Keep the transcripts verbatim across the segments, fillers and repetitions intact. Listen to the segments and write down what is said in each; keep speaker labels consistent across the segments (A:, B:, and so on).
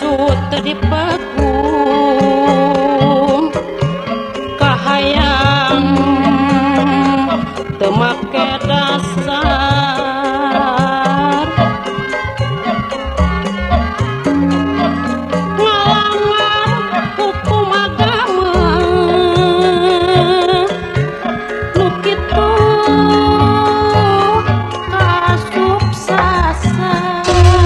A: anu teu dipakum kahayang teu make dasar ngalanggar hukum agama nu kitu kasuksasan.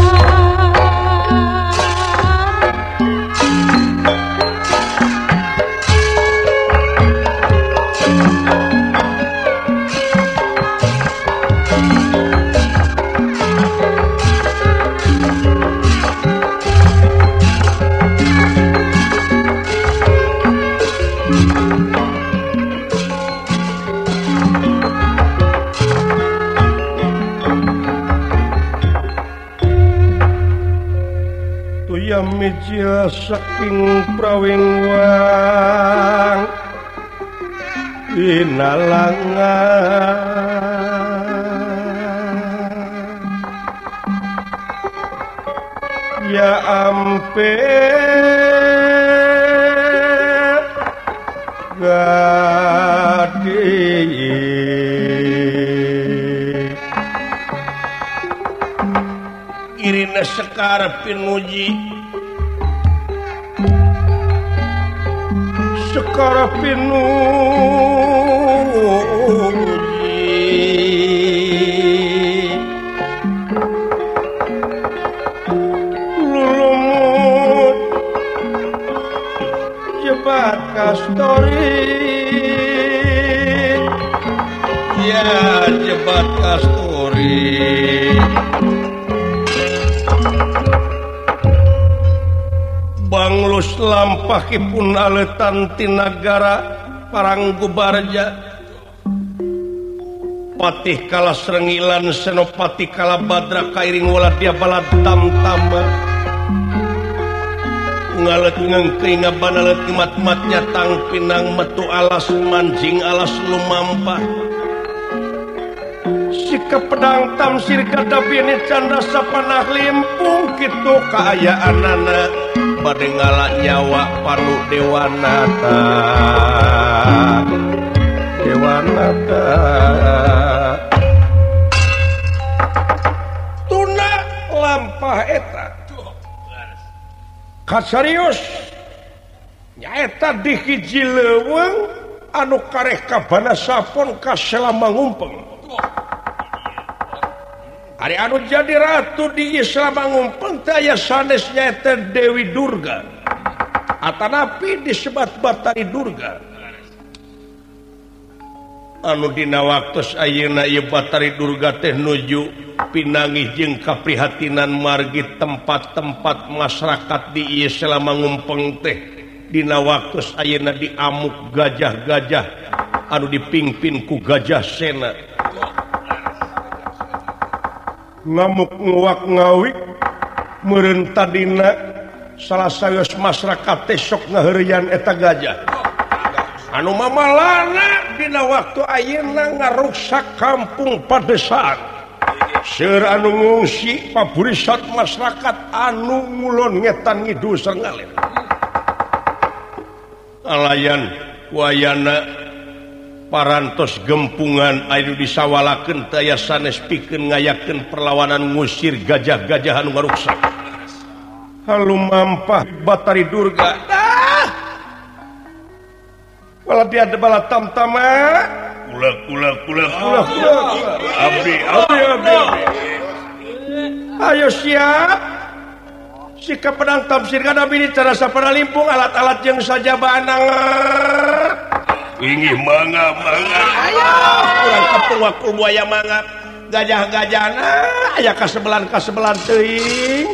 B: Meja saking prawingwang inalangan ya ampe gadi irina sekar pinuji sekara pinuji lulumut jebat kastori ya jebat kastori banglus lampahipun aletan ti nagara Paranggu Barja patih kala Srengilan senopati kala Badra kairing waladia balad tamtama ngalet ngengkring ngabanalet mat-matnya tang pinang metu alas manjing alas lumampah sika pedang tamsir kadabini canda sapanah limpung kitu kaayaanana bade ngalak nyawa panu Dewanata Dewanata tuna lampah eta kasarius nyaeta di hiji leuweung anu kareh kabana sapon kaselama ngumpeng hari anu jadi ratu di Selama ngumpeng taya sanes nyaeta Dewi Durga atanapi disebat Batari Durga anu dina waktos ayeuna ieu Batari Durga teh nuju pinangih jeung kaprihatinan margi tempat-tempat masyarakat di ieu Selama ngumpeng teh dina waktos ayeuna diamuk gajah-gajah anu dipingpin ku Gajah Sena ngamuk nguak ngawik meureun tadina salah saeus masyarakat teh sok ngaheureuyan eta gajah anu mamalana dina waktu ayeuna ngaruksak kampung Padesan seueur anu ngungsi paburisat masyarakat anu ngulon ngetan ngidul sareng ngalih alayan wayana parantos gempungan anu disawalakeun taya sanes pikeun ngayakeun perlawanan ngusir gajah-gajah anu ngaruksak halumampah Batari Durga ah wala dia bala tamtama kula kula kula kula abdi abdi abdi ayo siap sikap pedang tamsir kadabini cara sapana limpung alat-alat yang saja banang ingih mangga mangga ayo kurang kepung wakul buaya mangga gajah-gajana aya kasebelan kasebelan teuing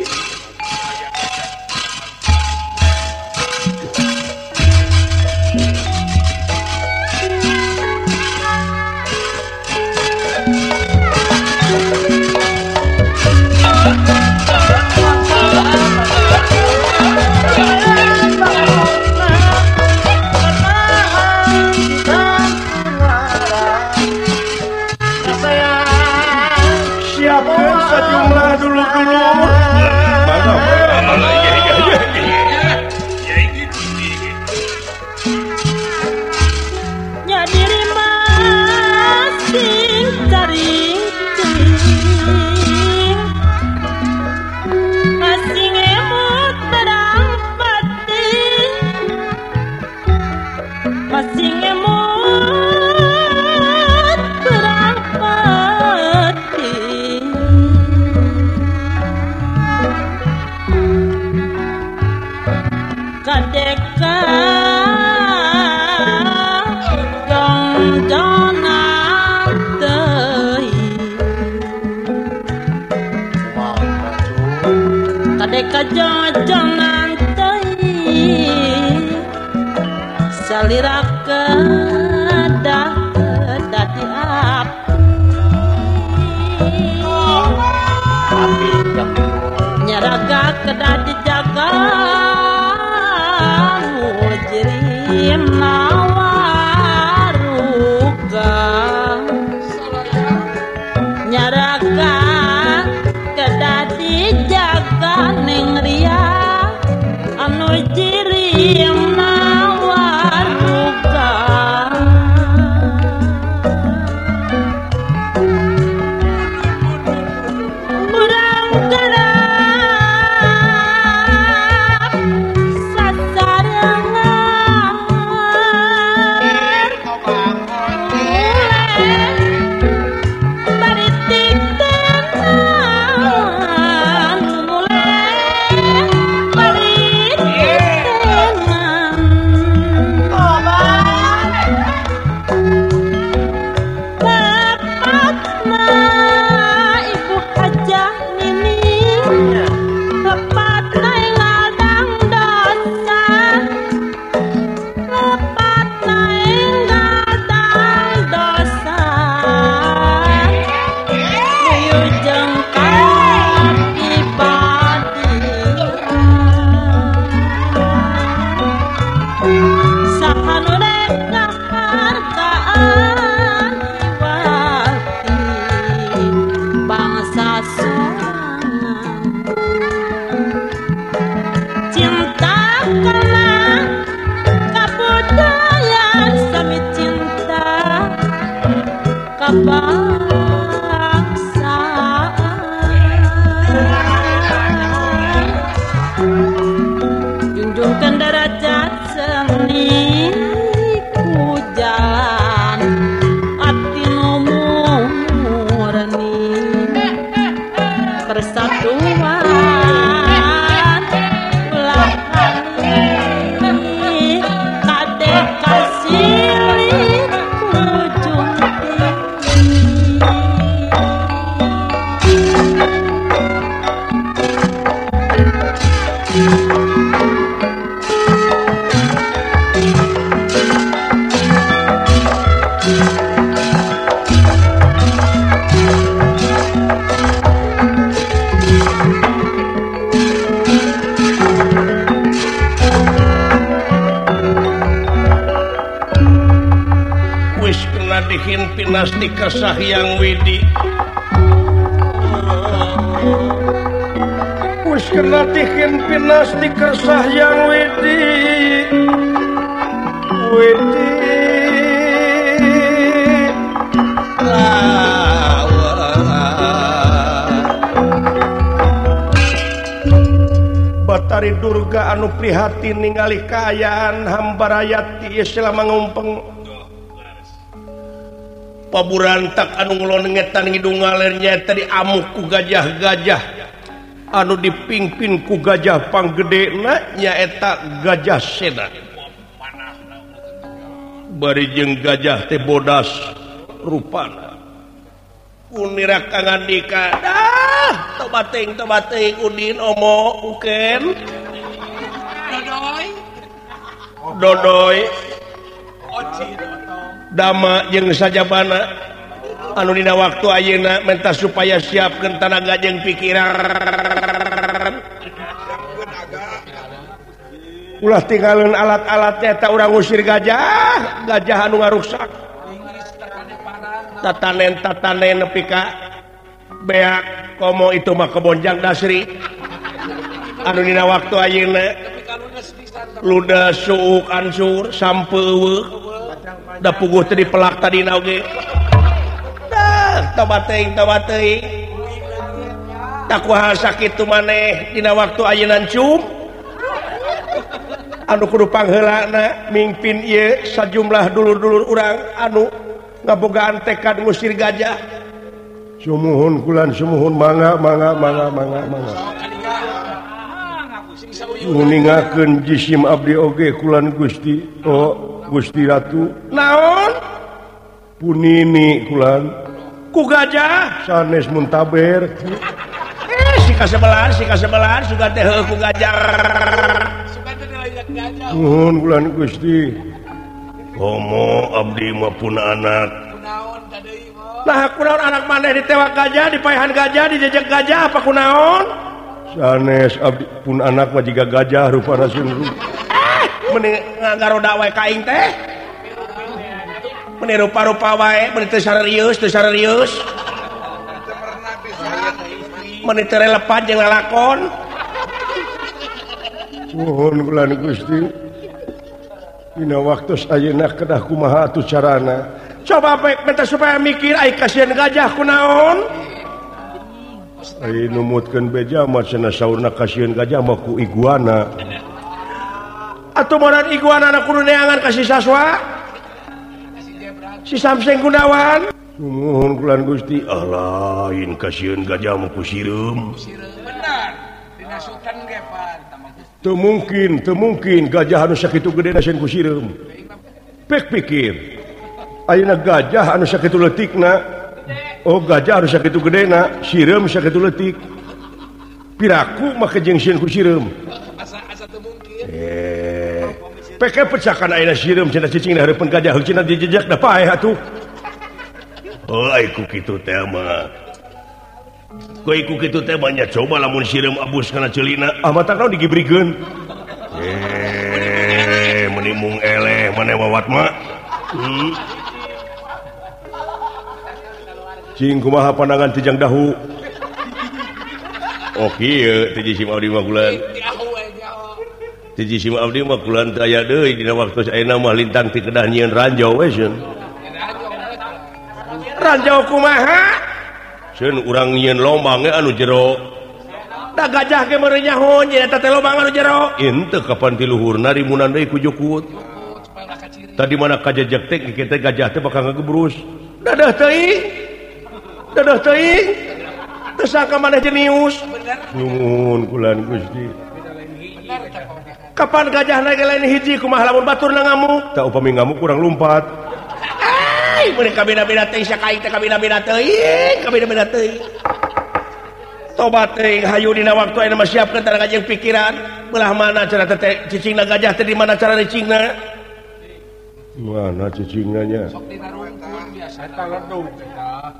B: sejumlah dulu-dulu
A: kadeka jong-jongan teuing kadeka jong-jongan teuing salira kedah dadi api nyaraga kedah dijaga mujirim nawaruga nyaraga kedah dijaga ning ria anu jirim nawaruga urang garap sasarengan baritik tenan mulai baritik tenan tepatna ibu hajah nining tepatna ngadang dosa tepatna ngadang dosa wilujeng kapibadi sakanu rek ngahargaan wati bangsa sorangan cinta karena kabudayaan sami cinta kabangsaan junjungkan derajat seni ku jalan ati nu murni persatuan ulah kali kadek kasilih ujung tinggi
B: wis kena dihin pinasti kesah yang widi wis kena dihin pinasti kesah yang widi widi Batari Durga anu prihatin ningali kaayaan hamba rakyat ieu selama ngumpeng paburantak anu ngelonengetan ngidung ngalernya tadi amuk ku gajah-gajah anu dipingpin ku gajah panggedena nyaeta Gajah Seda bari jeung gajah teh bodas rupana unira Kang Andika dah tobating tobating udin omo uken dodoy dodoy dama jeung sajabana anu dina waktu ayeuna menta supaya siapkeun tanaga jeung pikiran ulah tinggalin alat-alatnya tak urang usir gajah gajah anu ngaruksak tatanen-tatanen nepi ka beak komo itu mah kebonjang dasri anu dina waktu ayeuna luda suuk ansur sampeuweuk da puguh teh dipelak tadina oge dah tobat teuing tobat teuing tak kumaha sakitu maneh dina waktu ayeuna cum anu kudu pangheulana mingpin ieu sajumlah dulur-dulur urang anu ngabogaan tekad ngusir gajah. Sumuhun kulan sumuhun mangga mangga mangga mangga mangga. nguningakeun jisim abdi oge kulan Gusti. Oh, Gusti Ratu. Naon? Punini kulan. Ku gajah sanes muntaber. Eh, si kasebelan, si kasebelan suga teh ku gajah. Suga teh lihat gajah. Nuhun kulan Gusti. Komo abdi mah pun anak. Kunaon ka deui mah? Nah, kunaon anak maneh ditewak gajah, dipaehan gajah, dijejek gajah apa kunaon? Sanes abdi pun anak mah jiga gajah rupana sungguh. Eh, mending ngagaroda wae ka aing teh. Meni rupa-rupa wae, meni teu sarerius, teu sarerius. Meni teu relevan jeung lalakon. Nuhun kulan Gusti. Dina waktos ayeuna kedah kumaha atuh carana. Coba baik minta supaya mikir ai kasihan gajah kunaon. Ai numutkeun beja mah cenah saurna kasihan gajah mah ku iguana. Atuh moran iguana na kudu neangan kasih saswa. Si Samseng Gunawan. Nuhun kulan Gusti. Ah lain kasihan gajah mah ku sireum. Benar. Dina Sultan ge pan. Teu mungkin, teu mungkin gajah anu sakitu gedena sieun ku sireum. Pek pikir. Ayeuna gajah anu sakitu leutikna. Oh, gajah anu sakitu gedena, sireum sakitu leutik. Piraku mah jeung sieun ku sireum. Asa asa teu mungkin. Eh. Peke pecakan ayeuna sireum cenah cicing da hareupeun gajah cenah dijejak da paeh atuh. Oh, ai ku kitu teh mah. Ku iku kitu teh banyak coba lamun sireum abus kana ceulina, ah mata naon digibrikeun. Eh, meuni mung eleh maneh wawat mah. Hmm. Cing kumaha pandangan tijang dahu? Oh kieu tiji sim abdi mah kulan. Tiji sim abdi mah kulan teu aya deui dina waktu ayeuna mah lintang ti kedah nyieun ranjau we seun. Ranjau kumaha? Seun urang nyieun lombang ge anu jero. Da gajah ge meureun nyaho nya eta teh lombang anu jero. Henteu kapan ti luhurna rimunan deui ku jukut. Tadi mana kajejek teh kitu gajah teh bakal ngagebrus. Dadah teuing. Dadah teuing. Teu sangka maneh jenius. Nuhun kulan Gusti. Kapan gajahna ge lain hiji kumaha lamun baturna ngamuk? Tah upami ngamuk kurang lumpat. Ai, meureun kabina-bina teuing sakaing teh kabina-bina teuing, kabina-bina teuing. Tobat teuing hayu dina waktu ayeuna mah siapkeun tara gajeng pikiran, belah mana cara teh cicingna gajah teh di mana cara cicingna? Mana cicingna nya? Sok dina rungkun biasa eta ledung cenah.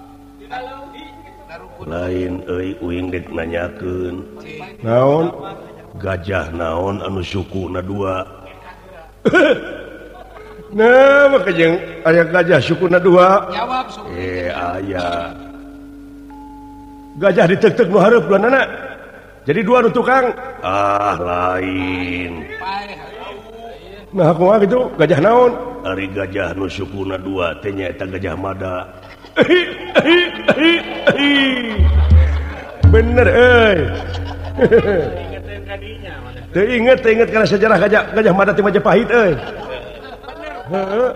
B: Lain euy uing dek nanyakeun. Naon? Gajah naon anu sukuna dua? Nah, maka jeung aya gajah sukuna dua. Jawab suku. Eh aya. Gajah diteuk-teuk nu hareup duanana. Jadi dua nu tukang. Ah lain. Nah, kumaha kitu? Gajah naon? Ari gajah nu sukuna dua teh nya eta gajah mada. Bener euy. Teu inget, teu inget kana sejarah gajah gajah mada ti Majapahit euy. Heeh.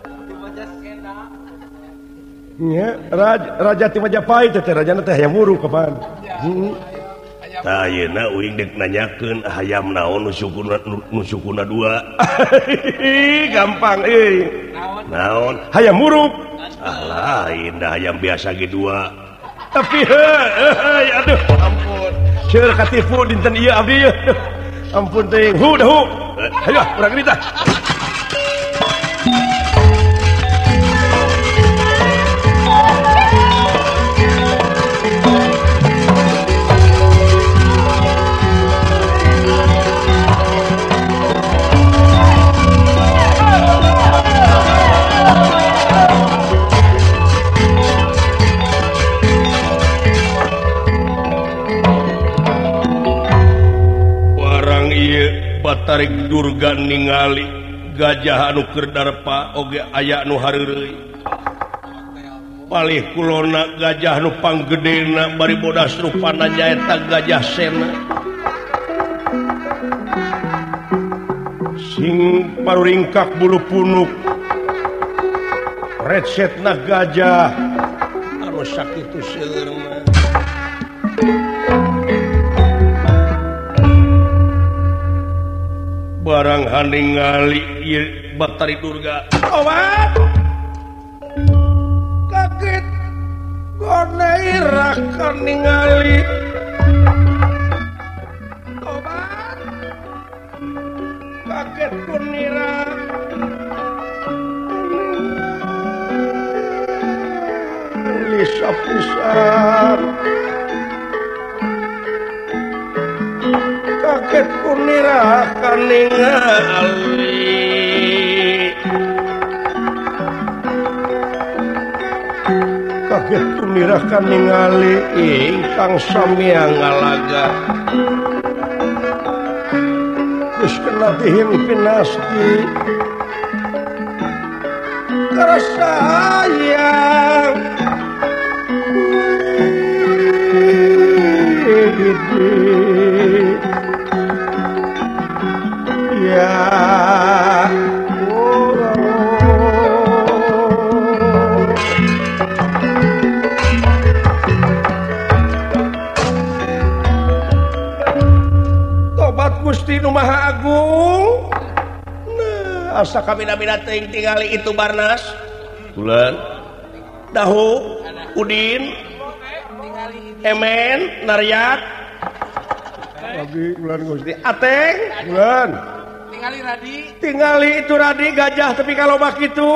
B: Nya, raja raja ti Majapahit teh rajana teh hayam wuru kapan. Heeh. Tah ayeuna uing dek nanyakeun hayam naon nu sukuna nu sukuna dua. Gampang euy. Naon? Naon? Hayam muruk. Ah lain dah hayam biasa ge dua. Tapi heuh, aduh ampun. Seueur katipu dinten ieu abdi ieu. Ampun teuing. Hu dah hu. Hayo urang geus tah. Tarik durga ningali gajah anu keur darpa oge aya nu hareureui. Palih kulona gajah nu panggedena bari bodas rupana nyaeta gajah sena. Sing paruringkak bulu punuk. Recetna gajah anu sakitu seueurna. barang haningali Batari Durga obat kaget goneira kan ningali obat kaget kunira lisapisan kaget kunira kan ningali kaget kunira kan ningali ingkang sami ngalaga geus kena dihimpin nasti karasayang ya tobat Gusti Nu Maha Agung nah asa kabina-bina teuing tingali itu Barnas Bulan Dahu Udin Emen Naryat lagi Bulan Gusti Ateng Bulan tingali Radi tingali itu Radi gajah tapi kalau bak itu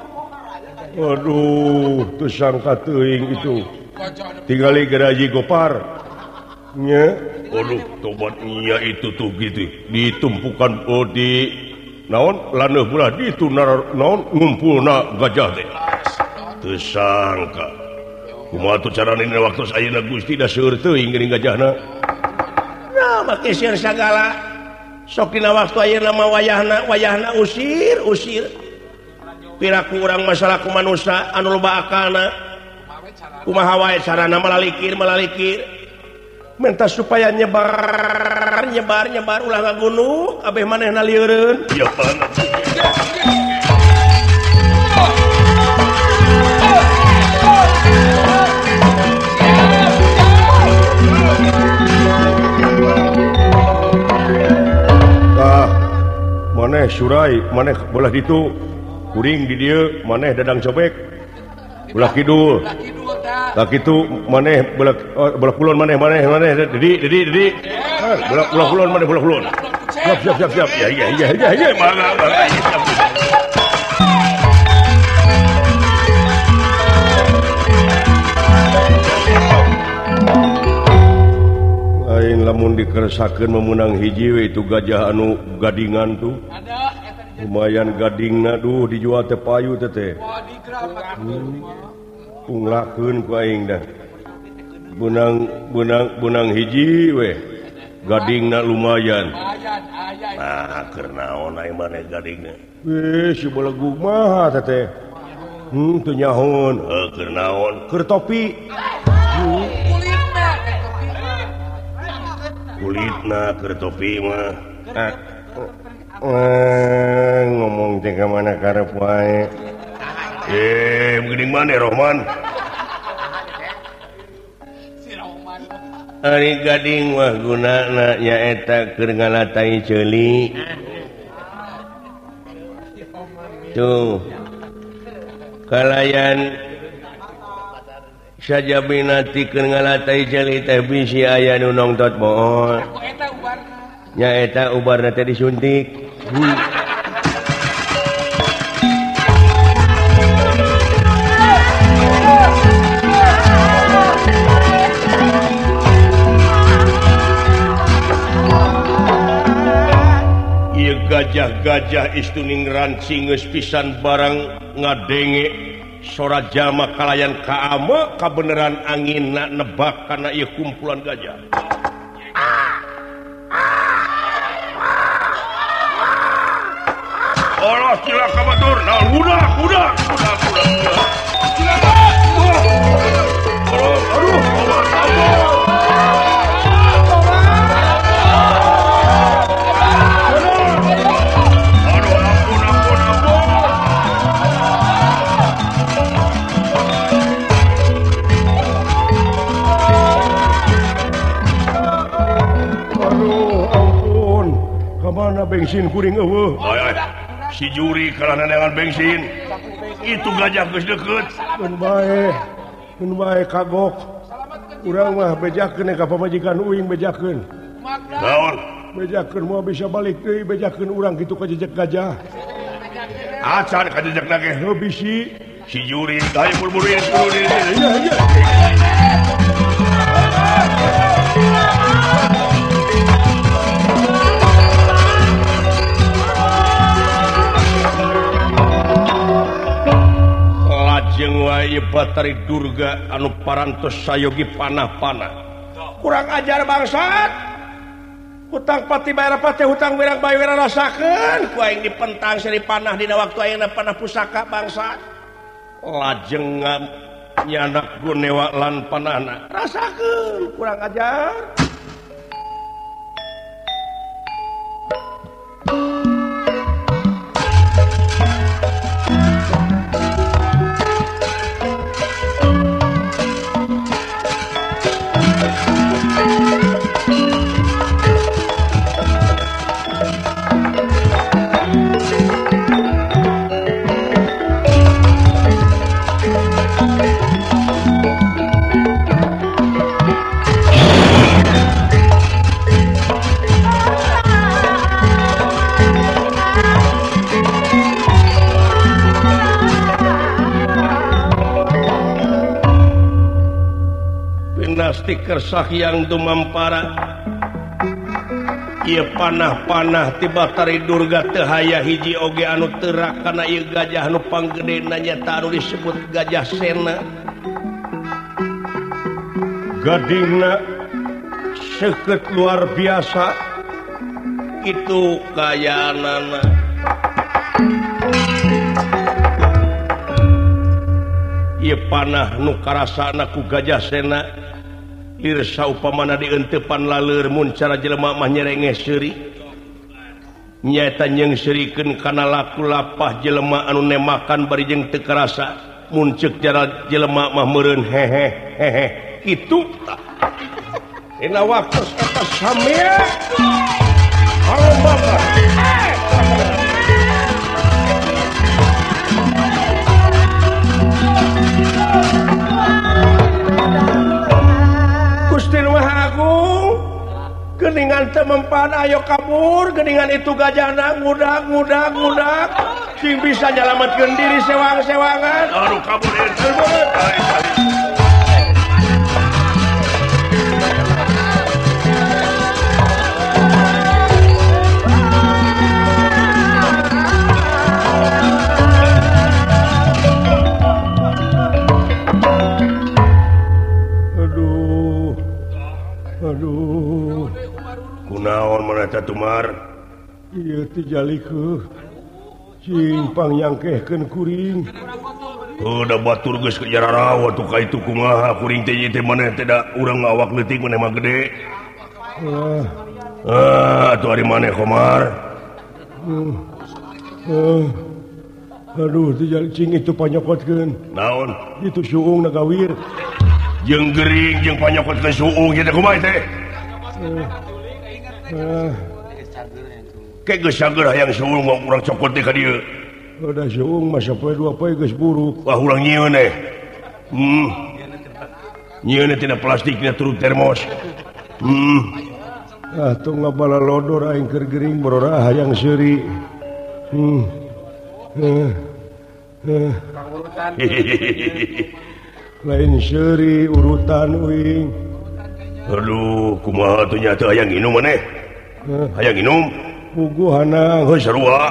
B: waduh tuh sangka teuing itu tingali Geraji Gopar nya waduh tobat iya itu tuh gitu ditumpukan oh di naon laneuh bulah di itu naon ngumpulna gajah teh teu sangka kumaha tuh carana dina waktu ayeuna Gusti da seueur teuing geuning gajahna nah make sieun sagala sok dina waktu ayeuna mah wayahna wayahna usir usir piraku urang masalah ku manusia anu loba akalna kumaha wae carana malalikir malalikir minta supaya nyebar nyebar nyebar ulah ngagunung abeh manehna lieureun ieu banget ah maneh surai maneh belah ditu kuring di dieu maneh dadang cobek belah kidul tak itu maneh belah belah kulon maneh maneh maneh dedi dedi dedi belah belah kulon maneh belah kulon siap siap siap siap ya iya iya iya iya mangga mangga siap lain lamun dikeresakeun memenang hiji we itu gajah anu gadingan tuh lumayan gadingna duh dijual teh payu teh teh punglakeun ku aing dah benang benang benang hiji we gadingna lumayan nah keur naon aing maneh gadingna we si balagu mah teh teh hmm teu nyahoon heuh keur naon keur topi kulitna kulitna keur topi mah eh ngomong teh ka mana karep wae eh geuning maneh Rohman ari gading mah gunana nyaeta keur ngalatai ceuli tuh kalayan sajabina tikeun ngalatai ceuli teh bisi aya nu nongtot moal nyaeta ubarna teh disuntik gajah-gajah istuning rancing geus pisan barang ngadenge sora jama kalayan kaama kabeneran anginna nebak kana ieu kumpulan gajah Allah sila kabatur nah udah udah udah udah aduh aduh aduh bensin kuring eueuh.
C: Si juri karena dengan bensin itu gajah geus deukeut.
B: Mun bae, mun bae kagok. Urang mah bejakeun ka pamajikan uing bejakeun.
C: Naon?
B: Bejakeun moal bisa balik deui bejakeun urang kitu ka jejak gajah.
C: Acan ka jejak nage
B: Heuh bisi.
C: si juri hayu buru-buru yang buru di
B: Iya iya.
C: lajeng wae Batari Durga anu parantos sayogi panah-panah.
B: Kurang ajar bangsat. Hutang pati bayar pati hutang wirang bae wira rasakeun.
C: Ku aing dipentang seri panah dina waktu ayeuna panah pusaka bangsat. Lajeng nyanak gunewa lan panahna.
B: Rasakeun kurang ajar.
C: Stiker sahyang dumampara ieu panah-panah ti Batari Durga teu haya hiji oge anu teurak kana ieu gajah anu panggedena nyata anu disebut Gajah Sena.
B: Gadingna seukeut luar biasa
C: itu kayaanana. Ieu panah nu karasana ku Gajah Sena irsa upamana dieunteupan laleur mun cara jelema mah nyerengeh seuri nyaeta nyeungseurikeun kana laku lapah jelema anu nemakan bari jeung teu karasa mun ceuk cara jelema mah meureun hehe hehe kitu
B: dina waktu eta samea alomba Gusti Maha Agung geuningan teu mempan ayo kabur geuningan itu gajahna ngudag ngudag ngudag sing bisa nyalametkeun diri sewang-sewangan
C: aduh kabur itu
B: Aduh,
C: kunaon mana Tumar?
B: Ieu teh jalikeun cing pangyangkehkeun kuring.
C: Udah batur geus ke jararawa tuh ka itu kumaha kuring teh ieu teh maneh teh da urang awak leutik maneh mah gede.
B: Ah,
C: ah atuh ari maneh Komar.
B: Uh, uh, aduh, teh jalik cing itu panyokotkeun.
C: Naon?
B: Itu suung nagawir.
C: Jeung gering jeung panyokotkeun suung ieu teh kumaha teh?
B: Ah,
C: Kayak geus sager hayang suung mau urang cokot teh ka dieu.
B: udah suung mah sapoe dua poe geus buruk.
C: Wah urang nyieun teh. Hmm. Nyieun tina plastik tina turut termos. Hmm.
B: Ah, tuh ngabala lodor aing keur gering borora hayang seuri. Hmm. Eh. Eh. Lain seuri urutan uing.
C: Aduh, kumaha tuh nya teu hayang nginum maneh?
B: Eh,
C: Hayang nginum?
B: puguh hanang.
C: Heuh sarua.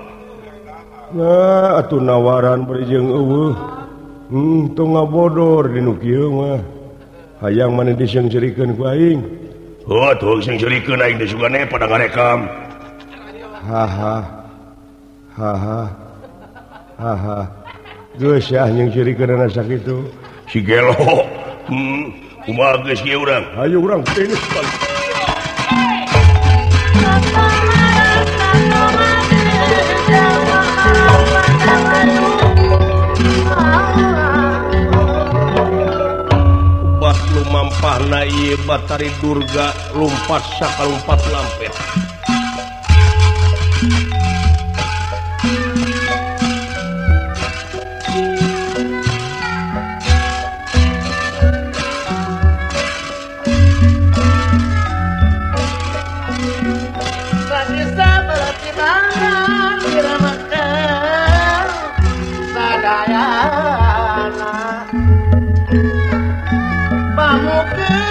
B: Nah, atuh nawaran bari jeung eueuh. Hmm, teu ngabodor dinu kieu mah. Hayang maneh diseungseurikeun ku aing.
C: Oh, tuh sing cerikeun aing teh sugane pada ngarekam.
B: Haha. Haha. Haha. Geus ya nyeungseurikeun ana sakitu.
C: Si gelo. Hmm, kumaha geus ieu urang?
B: Hayu urang tenis balik.
C: Bat lumampahna ieu Batari Durga lumpat sakalumpat lampet.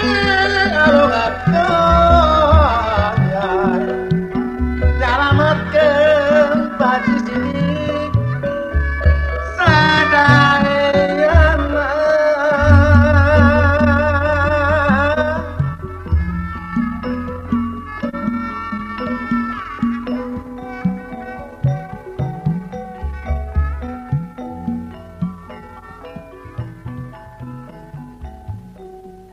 A: Hai